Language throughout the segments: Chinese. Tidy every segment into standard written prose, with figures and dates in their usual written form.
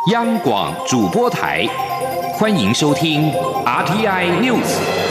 央广主播台，欢迎收听 RTI News。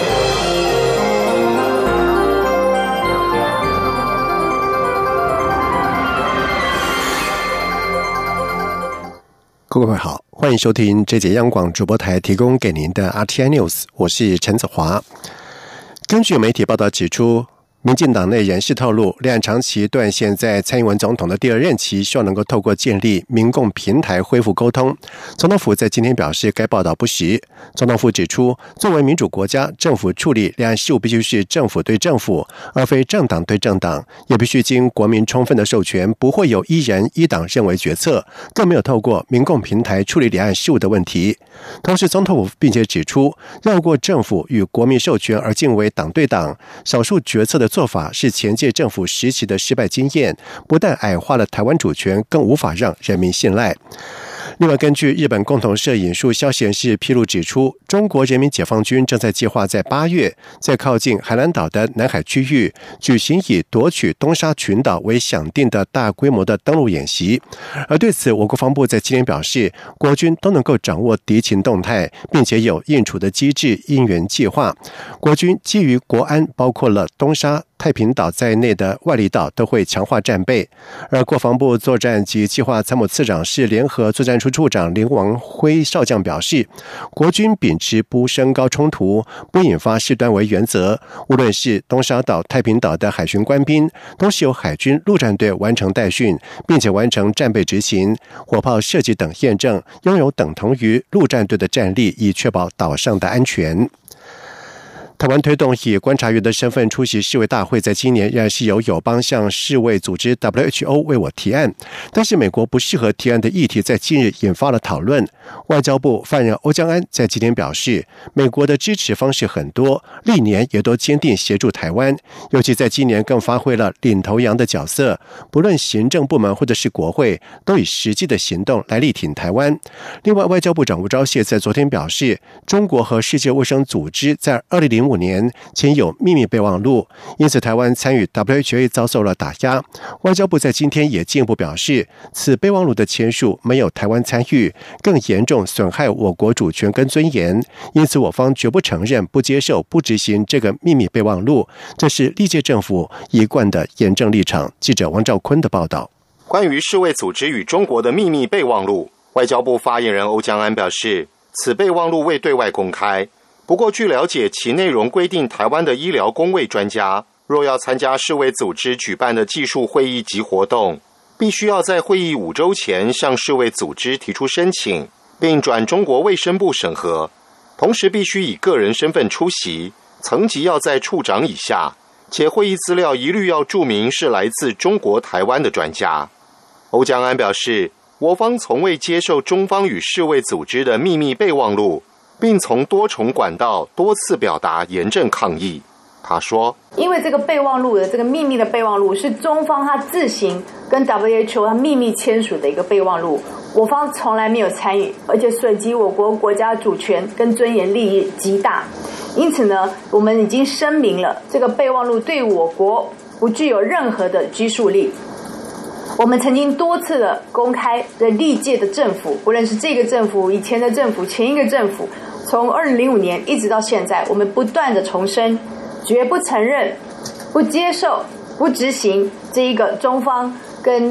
各位好，欢迎收听这节央广主播台提供给您的 RTI News， 我是陈子华。根据媒体报道指出，民进党内人士透露，两岸长期断线在蔡英文总统的第二任期，希望能够透过建立民共平台恢复沟通。总统府在今天表示，该报道不实。总统府指出，作为民主国家，政府处理两岸事务必须是政府对政府，而非政党对政党，也必须经国民充分的授权，不会有一人一党认为决策，更没有透过民共平台处理两岸事务的问题。同时，总统府并且指出，绕过政府与国民授权而进为党对党、少数决策的做法是前届政府时期的失败经验，不但矮化了台湾主权，更无法让人民信赖。另外，根据日本共同社引述消息人士披露指出，中国人民解放军正在计划在8月在靠近海南岛的南海区域举行以夺取东沙群岛为响定的大规模的登陆演习。而对此，我国防部在今天表示，国军都能够掌握敌情动态，并且有应处的机制应援计划。国军基于国安，包括了东沙、太平岛在内的外离岛都会强化战备。而国防部作战及计划参谋次长室联合作战处处长林王辉少将表示，国军秉持不升高冲突、不引发事端为原则，无论是东沙岛、太平岛的海巡官兵，都是由海军陆战队完成代训，并且完成战备执行、火炮射击等验证，拥有等同于陆战队的战力，以确保岛上的安全。台湾推动以观察员的身份出席世卫大会，在今年仍然是由友邦向世卫组织 WHO 为我提案，但是美国不适合提案的议题在近日引发了讨论。外交部发言人欧江安在今天表示，美国的支持方式很多，历年也都坚定协助台湾，尤其在今年更发挥了领头羊的角色，不论行政部门或者是国会，都以实际的行动来力挺台湾。另外，外交部长吴钊燮在昨天表示，中国和世界卫生组织在2005年签有秘密备忘录，因此台湾参与 WHO 遭受了打压。外交部在今天也进一步表示，此备忘录的签署没有台湾参与，更严重损害我国主权跟尊严，因此我方绝不承认、不接受、不执行这个秘密备忘录，这是历届政府一贯的严正立场。记者王兆坤的报道。 关于世卫组织与中国的秘密备忘录，外交部发言人欧江安表示，此备忘录未对外公开，不过据了解，其内容规定台湾的医疗公卫专家若要参加世卫组织举办的技术会议及活动，必须要在会议5周前向世卫组织提出申请，并转中国卫生部审核，同时必须以个人身份出席，层级要在处长以下，且会议资料一律要注明是来自中国台湾的专家。欧江安表示，我方从未接受中方与世卫组织的秘密备忘录，并从多重管道多次表达严正抗议。他说， 因为这个备忘录的这个秘密的备忘录是中方他自行跟 WHO 他秘密签署的一个备忘录，我方从来没有参与，而且涉及我国国家主权跟尊严利益极大，因此呢，我们已经声明了这个备忘录对我国不具有任何的拘束力。我们曾经多次的公开的历届的政府，不论是这个政府、以前的政府、前一个政府，从2005年一直到现在，我们不断的重申，绝不承认、不接受、不执行这一个中方跟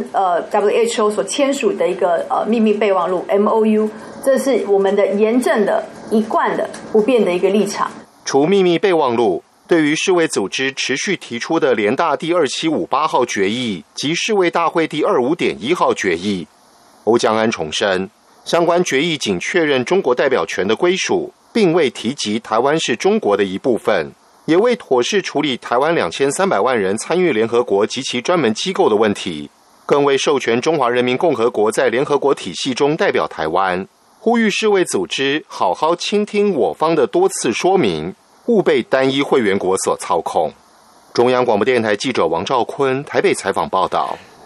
WHO 所签署的一个秘密备忘录 MOU， 这是我们的严正的、一贯的、不变的一个立场。 除秘密备忘录，对于世卫组织持续提出的联大第2758号决议及世卫大会第25.1号决议，欧江安重申，相关决议仅确认中国代表权的归属，并未提及台湾是中国的一部分，也未妥善处理台湾2300万人参与联合国及其专门机构的问题，更未授权中华人民共和国在联合国体系中代表台湾，呼吁世卫组织好好倾听我方的多次说明，勿被单一会员国所操控。中央广播电台记者王兆坤台北采访报道。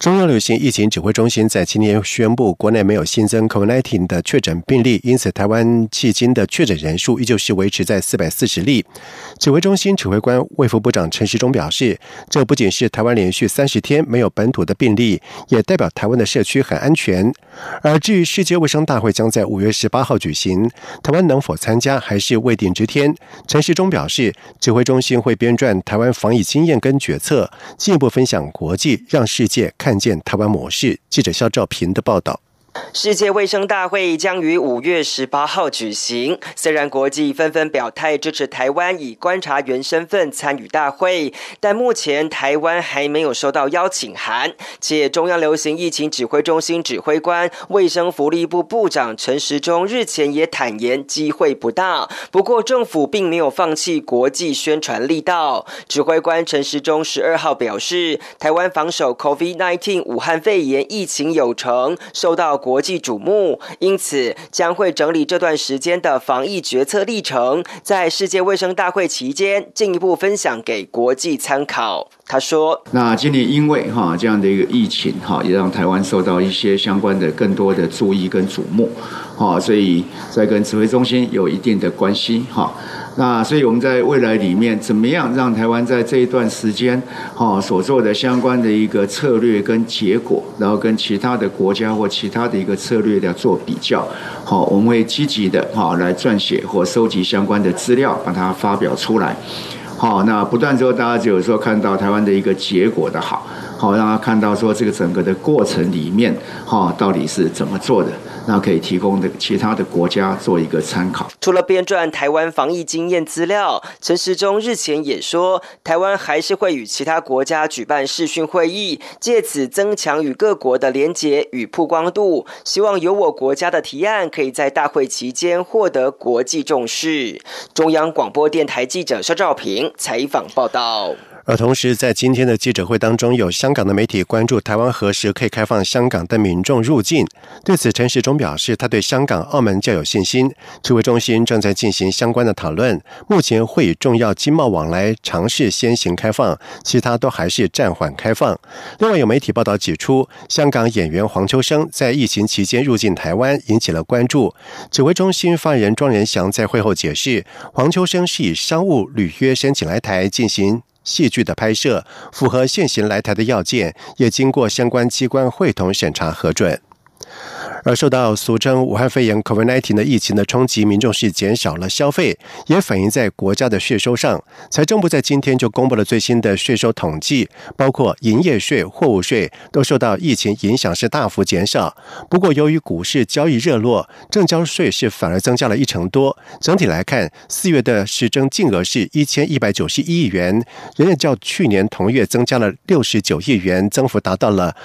中央流行疫情指挥中心在今天宣布，国内没有新增 COVID-19 的确诊病例，因此台湾迄今的确诊人数依旧是维持在440例。指挥中心指挥官卫福部长陈时中表示，这不仅是台湾连续30天没有本土的病例，也代表台湾的社区很安全。而至于世界卫生大会将在5月18号举行，台湾能否参加还是未定之天。陈时中表示，指挥中心会编撰台湾防疫经验跟决策，进一步分享国际，让世界看见台湾模式。记者肖兆平的报道。 世界卫生大会将于5月18号举行。虽然国际纷纷表态支持台湾以观察员身份参与大会，但目前台湾还没有收到邀请函，且中央流行疫情指挥中心指挥官、卫生福利部部长陈时中日前也坦言机会不大。不过政府并没有放弃国际宣传力道。指挥官陈时中12号表示，台湾防守 COVID-19 武汉肺炎疫情有成，受到国际瞩目，因此将会整理这段时间的防疫决策历程，在世界卫生大会期间进一步分享给国际参考。他说， 那今年因为这样的一个疫情也让台湾受到一些相关的更多的注意跟瞩目，所以在跟指挥中心有一定的关系。那所以我们在未来里面怎么样让台湾在这一段时间所做的相关的一个策略跟结果，然后跟其他的国家或其他的一个策略来做比较，我们会积极的来撰写或收集相关的资料，把它发表出来。那不断之后，大家只有说看到台湾的一个结果的好，让他看到说这个整个的过程里面到底是怎么做的，那可以提供的其他的国家做一个参考。 除了编撰台湾防疫经验资料，陈时中日前也说，台湾还是会与其他国家举办视讯会议，借此增强与各国的连结与曝光度，希望有我国家的提案可以在大会期间获得国际重视。中央广播电台记者肖兆平采访报道。 而同时，在今天的记者会当中，有香港的媒体关注台湾何时可以开放香港的民众入境。对此，陈时中表示，他对香港、澳门较有信心。指挥中心正在进行相关的讨论，目前会以重要经贸往来尝试先行开放，其他都还是暂缓开放。另外，有媒体报道指出，香港演员黄秋生在疫情期间入境台湾，引起了关注。指挥中心发言人庄仁祥在会后解释，黄秋生是以商务履约申请来台进行戏剧的拍摄，符合现行来台的要件，也经过相关机关会同审查核准。而受到俗称武汉肺炎 COVID-19 的疫情的冲击，民众是减少了消费，也反映在国家的税收上。财政部在今天就公布了最新的税收统计，包括营业税、货物税都受到疫情影响是大幅减少。不过由于股市交易热络，证交税是反而增加了1成多。整体来看，4月的实征净额是1191亿元，仍然较去年同月增加了69亿元，增幅达到了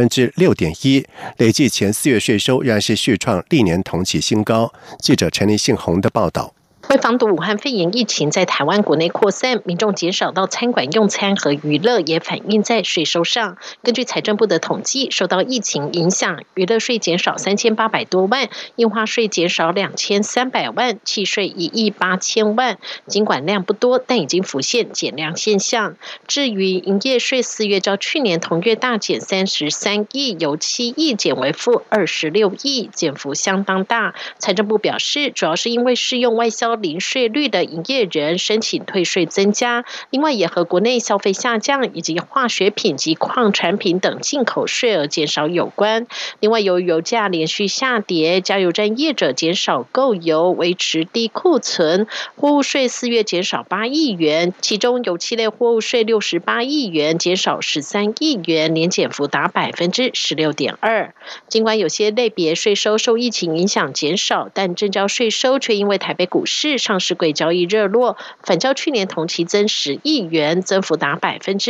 6.1%。累计前4月税收仍然是续创历年同期新高。记者陈立信宏的报道。 为防堵武汉肺炎疫情在台湾国内扩散，民众减少到餐馆用餐和娱乐，也反映在税收上。根据财政部的统计，受到疫情影响，娱乐税减少3800多万，印花税减少2300万，契税1亿8000万。尽管量不多，但已经浮现减量现象。至于营业税，4月较去年同月大减33亿，由7亿减为负26亿，减幅相当大。财政部表示，主要是因为适用外销零税率的营业人申请退税增加，另外也和国内消费下降以及化学品及矿产品等进口税额减少有关。另外由于油价连续下跌，加油站业者减少购油，维持低库存。货物税4月减少8亿元，其中油气类货物税68亿元，减少13亿元，年减幅达 16.2%。尽管有些类别税收受疫情影响减少，但证交税收却因为台北股市上市柜交易热络，反较去年同期增10亿元，增幅达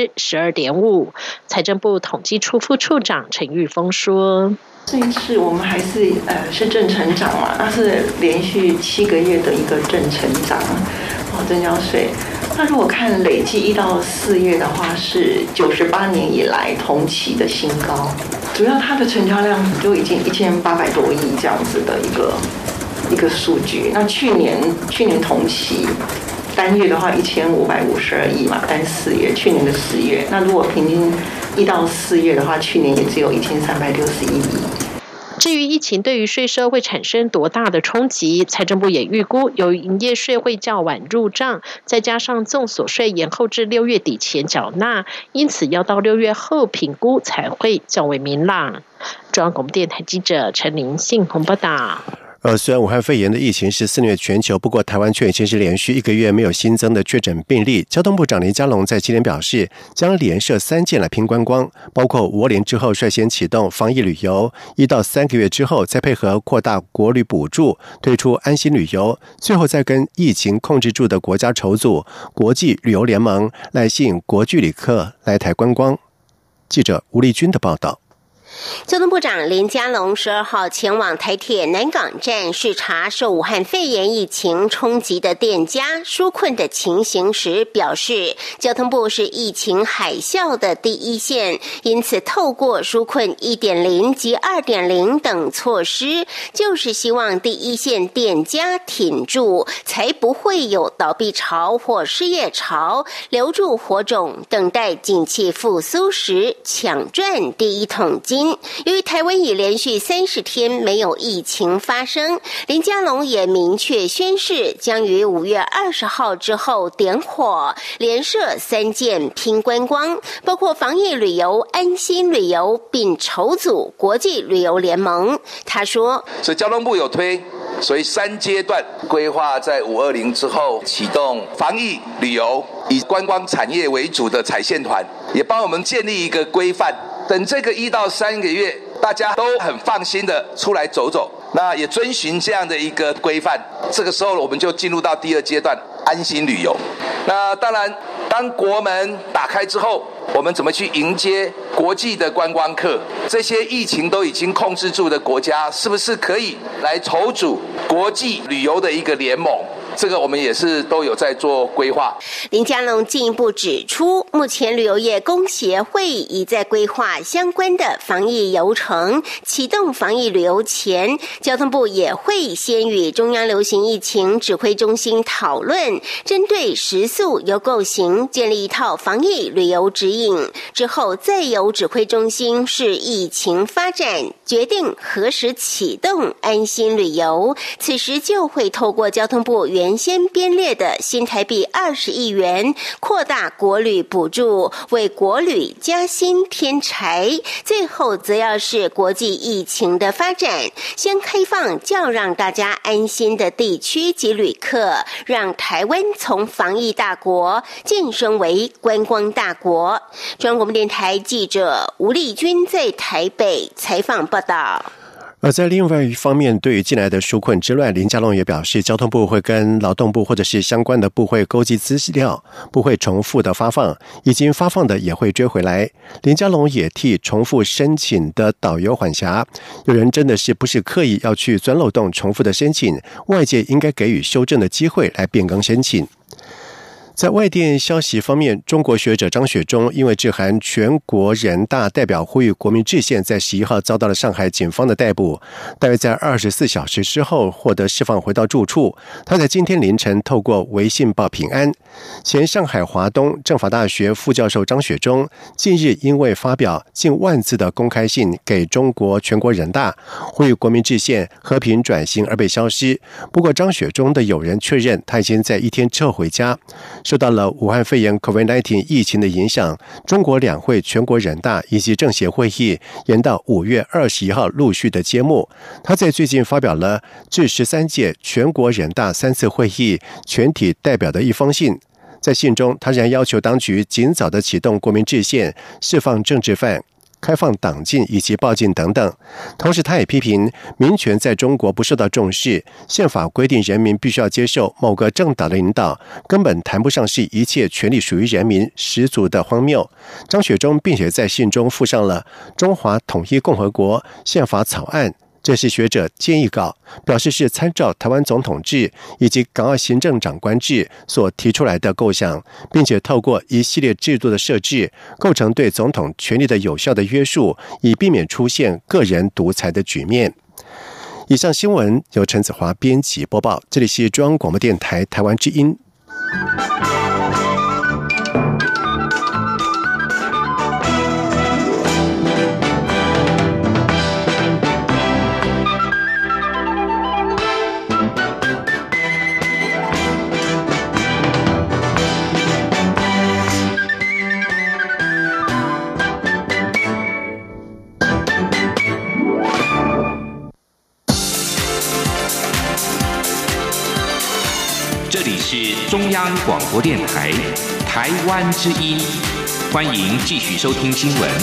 12.5%。财政部统计处副处长陈玉峰说， 这一次我们还是正成长嘛，那是连续7个月的一个正成长证交税。那如果看累计1到4月的话，是98年以来同期的新高，主要它的成交量就已经1800多亿这样子的一个数据。那去年同期单月的话1552亿嘛，单4月，去年的4月。那如果平均1到4月的话，去年也只有1361亿。 至于疫情对于税收会产生多大的冲击，财政部也预估，由于营业税会较晚入账，再加上综所税延后至6月底前缴纳，因此要到6月后评估才会较为明朗。中央广播电台记者陈琳信报道。 虽然武汉肺炎的疫情是肆虐全球，不过台湾却已经是连续1个月没有新增的确诊病例。交通部长林佳龙在今天表示，将连设3件来拼观光，包括520年之后率先启动防疫旅游，1到3个月之后再配合扩大国旅补助，推出安心旅游，最后再跟疫情控制住的国家筹组国际旅游联盟，来吸引国际旅客来台观光。记者吴丽君的报道。 交通部长林佳龙12号前往台铁南港站视察受武汉肺炎疫情冲击的店家纾困的情形时表示，交通部是疫情海啸的第一线，因此透过纾困 1.0 及 2.0 等措施，就是希望第一线店家挺住，才不会有倒闭潮或失业潮，留住火种，等待景气复苏时抢赚第一桶金。由于台湾已连续30天没有疫情发生，林佳龙也明确宣示，将于5月20号之后点火，连设3件拼观光，包括防疫旅游、安心旅游，并筹组国际旅游联盟。他说， 所以交通部有推，所以3阶段规划在520之后启动防疫旅游，以观光产业为主的踩线团，也帮我们建立一个规范。等这个1到3个月，大家都很放心的出来走走，那也遵循这样的一个规范。这个时候我们就进入到第2阶段安心旅游。那当然，当国门打开之后，我们怎么去迎接国际的观光客？这些疫情都已经控制住的国家，是不是可以来筹组国际旅游的一个联盟？这个我们也是都有在做规划。 林佳龙进一步指出，目前旅游业工协会已在规划相关的防疫流程，启动防疫旅游前，交通部也会先与中央流行疫情指挥中心讨论，针对时速由构型建立一套防疫旅游指引，之后再由指挥中心视疫情发展，决定何时启动安心旅游。此时就会透过交通部原先编列的新台币20亿元，扩大国旅补助，为国旅加薪添柴。最后则要是国际疫情的发展，先开放较让大家安心的地区及旅客，让台湾从防疫大国晋升为观光大国。中央广播电台记者吴丽君在台北采访报道。 而在另外一方面，对于近来的纾困之乱，林佳龙也表示，交通部会跟劳动部或者是相关的部会勾稽资料，不会重复的发放，已经发放的也会追回来。林佳龙也替重复申请的导游缓颊，有人真的是不是刻意要去钻漏洞重复的申请，外界应该给予修正的机会来变更申请。在外电消息方面，中国学者张雪忠因为致函全国人大代表呼吁国民制宪，在11号遭到了上海警方的逮捕，大约在24小时之后获得释放回到住处。他在今天凌晨透过微信报平安。前上海华东政法大学副教授张雪忠近日因为发表近10000字的公开信给中国全国人大，呼吁国民制宪、和平转型而被消失。不过张雪忠的友人确认，他已经在1天之后回家。受到了武汉肺炎 COVID-19 疫情的影响，中国两会全国人大以及政协会议延到5月21号陆续的揭幕。他在最近发表了致13届全国人大3次会议全体代表的一封信，在信中他仍然要求当局尽早的启动国民制宪，释放政治犯，开放党禁以及报禁等等。同时他也批评民权在中国不受到重视，宪法规定人民必须要接受某个政党的领导，根本谈不上是一切权利属于人民，十足的荒谬。张雪忠并且在信中附上了中华统一共和国宪法草案，这是学者建议稿，表示是参照台湾总统制以及港澳行政长官制所提出来的构想，并且透过一系列制度的设置，构成对总统权力的有效的约束，以避免出现个人独裁的局面。以上新闻由陈子华编辑播报，这里是中央广播电台台湾之音。 是中央广播电台台湾之音，欢迎继续收听新闻。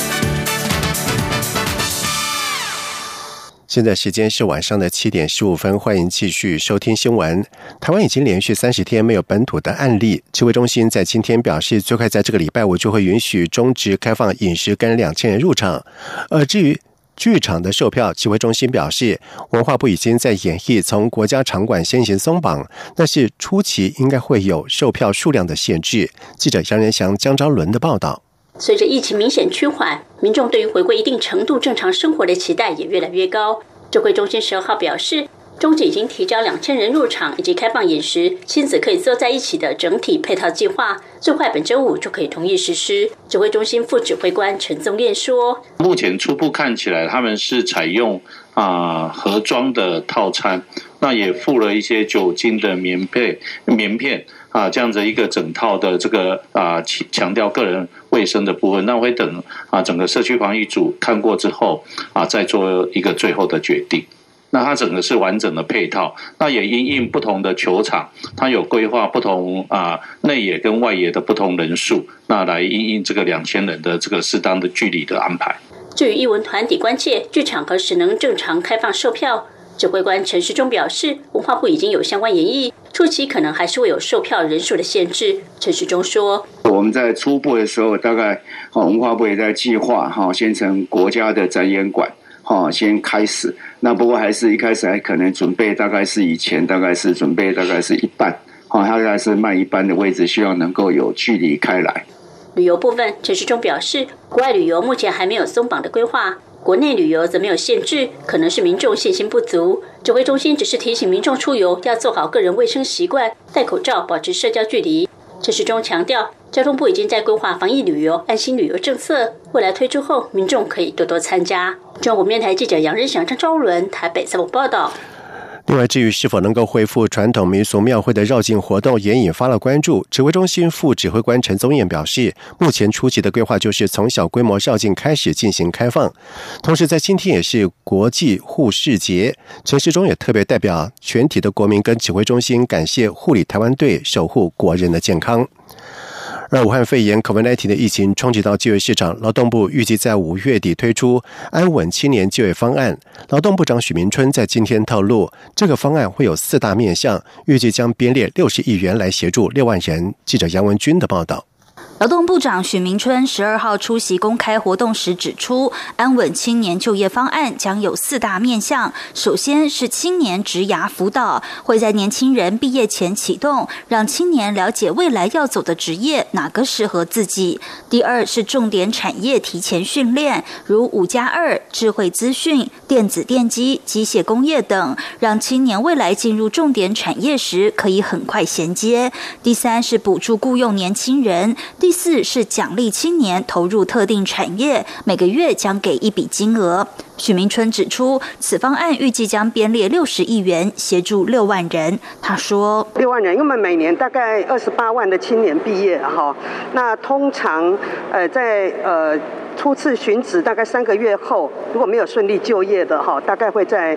现在时间是晚上的7点15分，欢迎继续收听新闻。台湾已经连续30天没有本土的案例，指挥中心在今天表示，最快在这个礼拜五就会允许中职开放饮食跟2000人入场。至于剧场的售票，指挥中心表示，文化部已经在演绎从国家场馆先行松绑，但是初期应该会有售票数量的限制。记者杨仁祥、江昭伦的报道。 随着疫情明显趋缓，民众对于回归一定程度正常生活的期待也越来越高。指挥中心12号表示，中职已经提交2000人入场以及开放饮食、亲子可以坐在一起的整体配套计划，最快本周五就可以同意实施。指挥中心副指挥官陈宗彦说：“ 目前初步看起来，他们是采用盒装的套餐，那也附了一些酒精的棉片。”这样子一个整套的这个强调个人卫生的部分，那会等整个社区防疫组看过之后再做一个最后的决定。那它整个是完整的配套，那也因应不同的球场，它有规划不同内野跟外野的不同人数，那来因应这个2000人的这个适当的距离的安排。 至于艺文团体关切剧场何时能正常开放售票，指挥官陈时中表示，文化部已经有相关研议，初期可能还是会有售票人数的限制。陈时中说， 我们在初步的时候，大概文化部也在计划先从国家的展演馆先开始，那不过还是一开始还可能准备大概是以前大概是准备大概是一半，它大概是卖一半的位置，希望能够有距离开来。 旅游部分，陈时中表示，国外旅游目前还没有松绑的规划，国内旅游则没有限制，可能是民众信心不足。指挥中心只是提醒民众出游要做好个人卫生习惯，戴口罩，保持社交距离。陈时中强调，交通部已经在规划防疫旅游、安心旅游政策，未来推出后，民众可以多多参加。中国面台记者杨仁祥、张昭伦台北采访报道。 另外，至于是否能够恢复传统民俗庙会的绕境活动，也引发了关注。指挥中心副指挥官陈宗彦表示，目前初期的规划就是从小规模绕境开始进行开放。同时，在今天也是国际护士节，陈时中也特别代表全体的国民跟指挥中心感谢护理台湾队，守护国人的健康。而武汉肺炎 COVID-19 的疫情冲击到就业市场，劳动部预计在5月底推出安稳青年就业方案。劳动部长许明春在今天透露，这个方案会有4大面向，预计将编列60亿元来协助6万人。记者杨文君的报道。 劳动部长许明春12号出席公开活动时指出，安稳青年就业方案将有4大面向。首先是青年职涯辅导，会在年轻人毕业前启动，让青年了解未来要走的职业哪个适合自己。第二是重点产业提前训练，如5+2、智慧资讯、电子电机、机械工业等，让青年未来进入重点产业时可以很快衔接。第三是补助雇用年轻人。第4是奖励青年投入特定产业，每个月将给一笔金额。许明春指出，此方案预计将编列60亿元，协助6万人。他说：6万人， 因为每年大概28万的青年毕业哈，那通常在初次寻职大概3个月后，如果没有顺利就业的哈，大概会在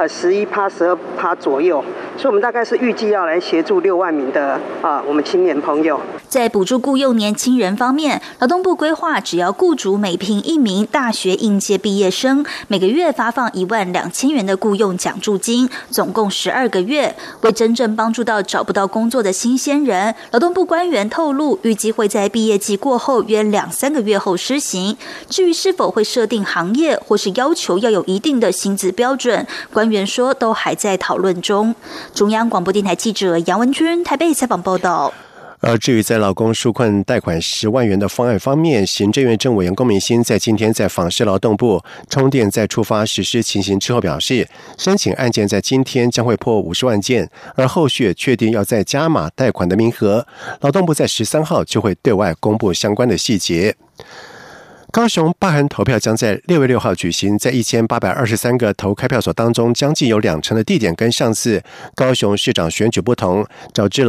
11%、12%左右，所以我们大概是预计要来协助6万名的我们青年朋友。 在补助雇用年轻人方面，劳动部规划，只要雇主每聘1名大学应届毕业生，每个月发放12000元的雇用奖助金，总共12个月。为真正帮助到找不到工作的新鲜人，劳动部官员透露，预计会在毕业季过后约2-3个月后施行。至于是否会设定行业或是要求要有一定的薪资标准，官员说都还在讨论中。中央广播电台记者杨文君台北采访报道。 至于在劳工纾困贷款10万元的方案方面，行政院政委员龚明鑫在今天在访视劳动部充电再出发实施情形之后表示，申请案件在今天将会破50万件，而后续确定要再加码贷款的名额，劳动部在13号就会对外公布相关的细节。高雄罢韩投票将在6月6号举行，在1823个投开票所当中，将近有20%的地点跟上次高雄市长选举不同，导致了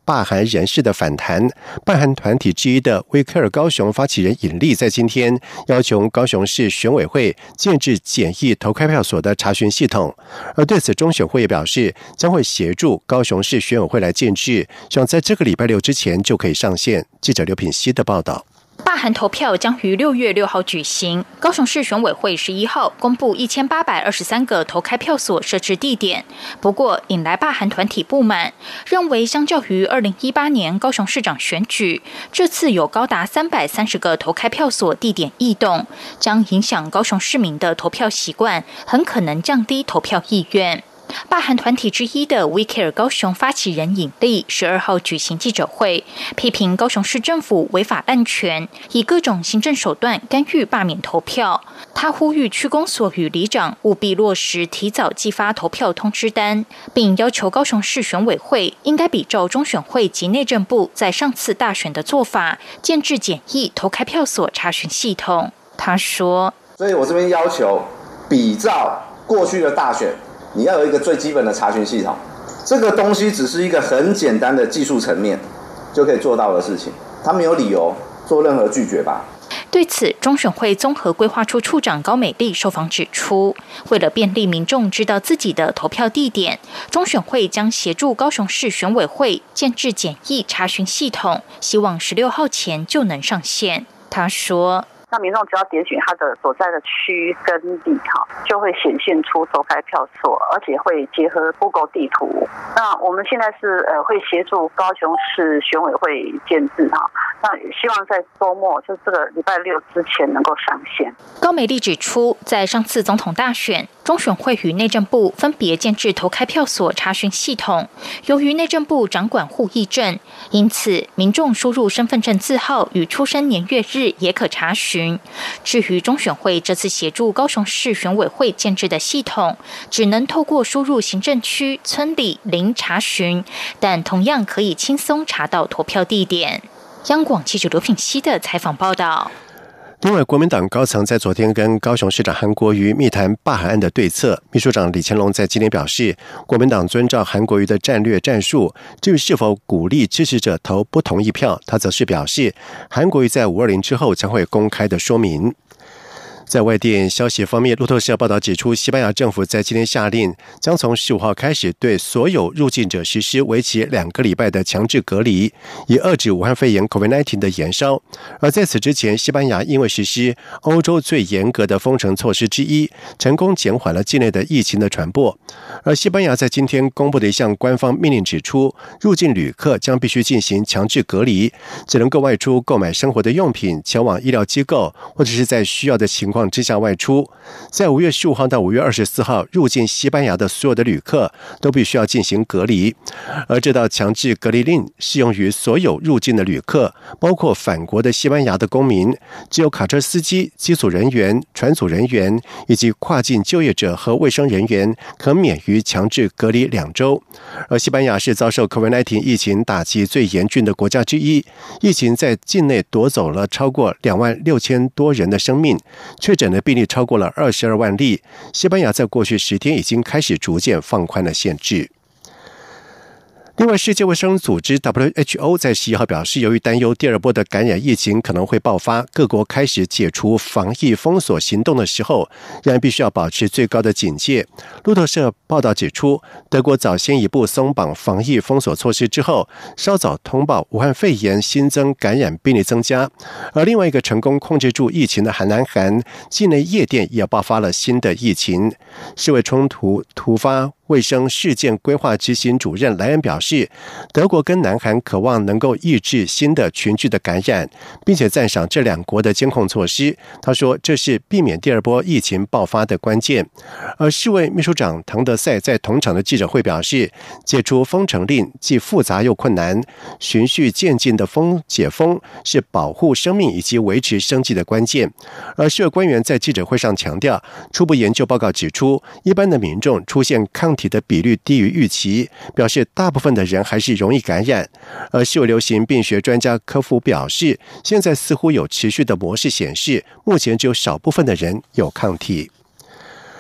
罢韩人士的反弹。罢韩团体之一的威克尔高雄发起人尹力在今天要求高雄市选委会建置简易投开票所的查询系统，而对此中选会也表示将会协助高雄市选委会来建置，希望在这个礼拜六之前就可以上线。记者刘品希的报道。 罢韩投票将于6月6号举行。高雄市选委会11号公布1823个投开票所设置地点，不过引来罢韩团体不满，认为相较于2018年高雄市长选举，这次有高达330个投开票所地点异动，将影响高雄市民的投票习惯，很可能降低投票意愿。罢韩团体之一的 We Care 高雄发起人尹力12号举行记者会，批评高雄市政府违法滥权，以各种行政手段干预罢免投票。他呼吁区公所与里长务必落实提早寄发投票通知单，并要求高雄市选委会应该比照中选会及内政部在上次大选的做法，建置简易投开票所查询系统。他说： 所以我这边要求比照过去的大选，你要有一个最基本的查询系统，这个东西只是一个很简单的技术层面就可以做到的事情，他没有理由做任何拒绝吧。 对此，中选会综合规划处处长高美丽受访指出，为了便利民众知道自己的投票地点，中选会将协助高雄市选委会建置简易查询系统，希望16号前就能上线。他说： 那民众只要点选他的所在的区跟里就会显现出投开票所，而且会结合 Google 地图。那我们现在是会协助高雄市选委会建置那希望在周末，就这个礼拜六之前能够上线。 高美丽指出，在上次总统大选，中选会与内政部分别建置投开票所查询系统，由于内政部掌管户役证，因此民众输入身份证字号与出生年月日也可查询。至于中选会这次协助高雄市选委会建置的系统，只能透过输入行政区、村里、邻查询，但同样可以轻松查到投票地点。央广记者刘品希的采访报道。 另外，国民党高层在昨天跟高雄市长韩国瑜密谈罢韩案的对策。秘书长李乾龙在今天表示，国民党遵照韩国瑜的战略战术，至于是否鼓励支持者投不同意票，他则是表示，韩国瑜在520之后将会公开的说明。在外电消息方面，路透社报道指出，西班牙政府在今天下令，将从15号开始对所有入境者实施为期2个礼拜的强制隔离，以遏制武汉肺炎 COVID-19 的延烧。而在此之前，西班牙因为实施欧洲最严格的封城措施之一，成功减缓了境内的疫情的传播。而西班牙在今天公布的一项官方命令指出，入境旅客将必须进行强制隔离，只能够外出购买生活的用品，前往医疗机构，或者是在需要的情况之下外出。在5月15号到5月24号入境西班牙的所有的旅客都必须要进行隔离，而这道强制隔离令适用于所有入境的旅客，包括返国的西班牙的公民，只有卡车司机、机组人员、船组人员以及跨境就业者和卫生人员可免于强制隔离2周。而西班牙是遭受 COVID-19 疫情打击最严峻的国家之一，疫情在境内夺走了超过26000多人的生命，确诊的病例超过了22万例。西班牙在过去10天已经开始逐渐放宽了限制。另外，世界卫生组织 WHO 在11号表示，由于担忧第2波的感染疫情可能会爆发，各国开始解除防疫封锁行动的时候，仍然必须要保持最高的警戒。路透社报道指出，德国早先一步松绑防疫封锁措施之后，稍早通报武汉肺炎新增感染病例增加。而另外一个成功控制住疫情的南韩，境内夜店也爆发了新的疫情。世卫冲突突发卫生事件规划执行主任莱恩表示，德国跟南韩渴望能够抑制新的群聚的感染，并且赞赏这2国的监控措施。他说，这是避免第2波疫情爆发的关键。而世卫秘书长唐德赛在同场的记者会表示，解除封城令既复杂又困难，循序渐进的解封是保护生命以及维持生计的关键。而世卫官员在记者会上强调，初步研究报告指出，一般的民众出现抗体的比率低于预期，表示大部分的人还是容易感染。而世卫流行病学专家科夫表示，现在似乎有持续的模式显示，目前只有少部分的人有抗体。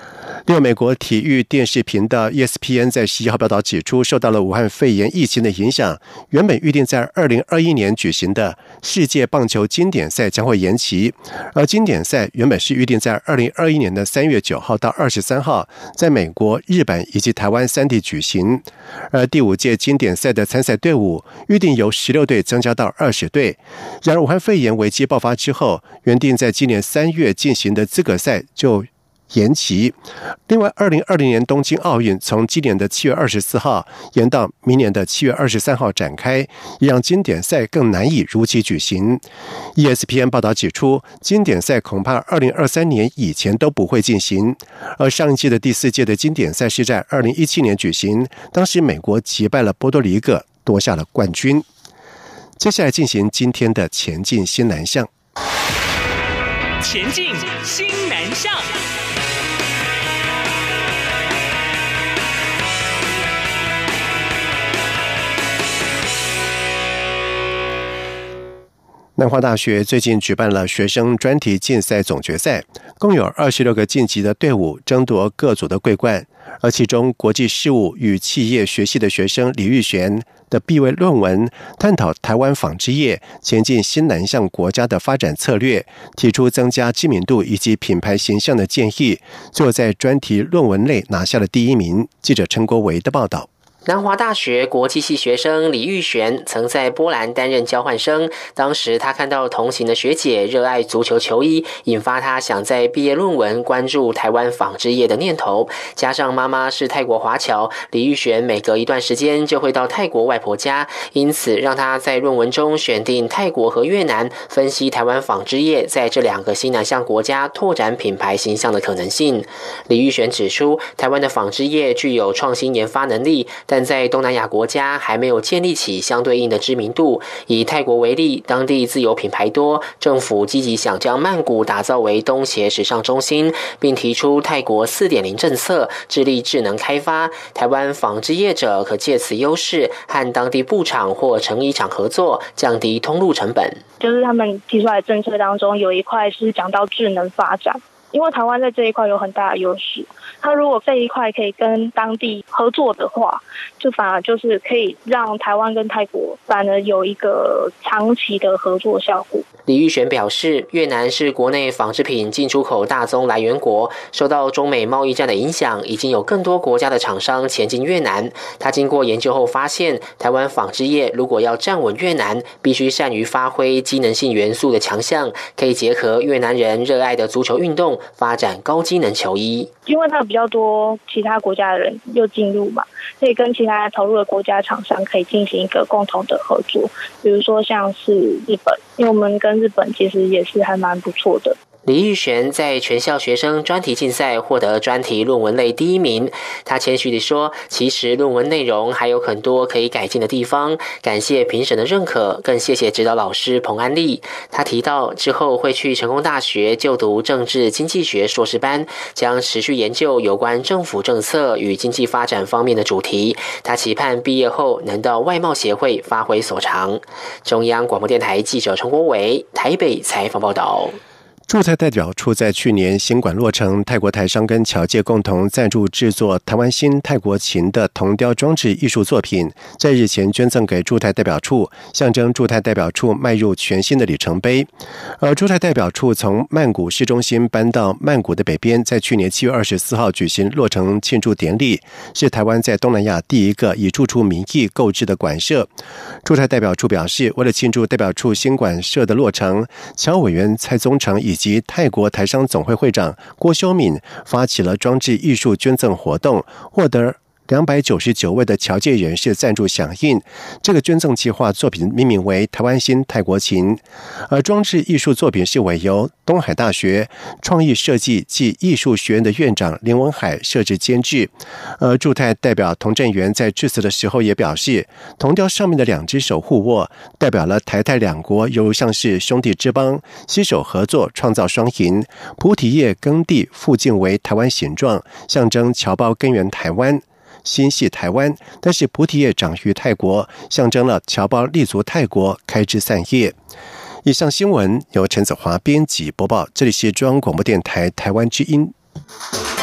另外，美国体育电视频道 ESPN 在11号报道指出，受到了武汉肺炎疫情的影响，原本预定在2021年举行的世界棒球经典赛将会延期，而经典赛原本是预定在2021年的3月9号到23号在美国、日本以及台湾3地举行，而第5届经典赛的参赛队伍预定由16队增加到20队。然而，武汉肺炎危机爆发之后，原定在今年3月进行的资格赛就延期。另外，2020年东京奥运从今年的7月24号延到明年的7月23号展开，也让经典赛更难以如期举行。ESPN 报道指出，经典赛恐怕2023年以前都不会进行。而上一届的第4届的经典赛是在2017年举行，当时美国击败了波多黎各，夺下了冠军。接下来进行今天的前进新南向。 前进新南向。 南华大学最近举办了学生专题竞赛总决赛，共有26个晋级的队伍争夺各组的桂冠，而其中国际事务与企业学系的学生李玉璇的毕业论文探讨台湾纺织业前进新南向国家的发展策略，提出增加知名度以及品牌形象的建议，最后在专题论文类拿下了第1名。记者陈国维的报道。 南华大学国际系学生李玉璇曾在波兰担任交换生，当时他看到同行的学姐热爱足球球衣，引发他想在毕业论文关注台湾纺织业的念头。加上妈妈是泰国华侨，李玉璇每隔一段时间就会到泰国外婆家，因此让他在论文中选定泰国和越南，分析台湾纺织业在这2个新南向国家拓展品牌形象的可能性。李玉璇指出，台湾的纺织业具有创新研发能力，但在东南亚国家还没有建立起相对应的知名度。以泰国为例，当地自有品牌多，政府积极想将曼谷打造为东协时尚中心，并提出泰国 4.0 政策，致力智能开发。台湾纺织业者可借此优势和当地布厂或成衣厂合作，降低通路成本。 就是他们提出来的政策当中有一块是讲到智能发展，因为台湾在这一块有很大的优势，他如果这一块可以跟当地合作的话，就反而就是可以让台湾跟泰国反而有一个长期的合作效果。 李玉璇表示，越南是国内纺织品进出口大宗来源国，受到中美贸易战的影响，已经有更多国家的厂商前进越南。他经过研究后发现，台湾纺织业如果要站稳越南，必须善于发挥机能性元素的强项，可以结合越南人热爱的足球运动，发展高机能球衣。 因为它比较多其他国家的人又进入嘛，所以跟其他投入的国家厂商可以进行一个共同的合作，比如说像是日本，因为我们跟日本其实也是还蛮不错的。 李玉璇在全校学生专题竞赛获得专题论文类第1名。他谦虚地说，其实论文内容还有很多可以改进的地方，感谢评审的认可，更谢谢指导老师彭安丽。他提到之后会去成功大学就读政治经济学硕士班，将持续研究有关政府政策与经济发展方面的主题。他期盼毕业后能到外贸协会发挥所长。中央广播电台记者陈国伟台北采访报道。 驻泰代表处在去年新馆落成，泰国台商跟侨界共同赞助制作台湾新泰国琴的铜雕装置艺术作品，在日前捐赠给驻泰代表处，象征驻泰代表处迈入全新的里程碑。而驻泰代表处从曼谷市中心搬到曼谷的北边，在去年7月24号举行落成庆祝典礼，是台湾在东南亚第一个以驻处名义购置的馆舍。驻泰代表处表示，为了庆祝代表处新馆舍的落成，侨委员蔡宗成以及泰国台商总会会长郭修敏发起了装置艺术捐赠活动，获得299位的侨界人士赞助响应。这个捐赠计划作品命名为台湾新泰国琴，而装置艺术作品是委由东海大学创意设计暨艺术学院的院长林文海设置监制。而驻泰代表童振源在致辞的时候也表示，铜雕上面的2只手互握，代表了台泰两国犹如像是兄弟之邦，携手合作创造双赢。菩提叶耕地附近为台湾形状，象征侨胞根源台湾，心系台湾，但是菩提叶长于泰国，象征了侨胞立足泰国，开枝散叶。以上新闻由陈子华编辑播报，这里是中央广播电台台湾之音。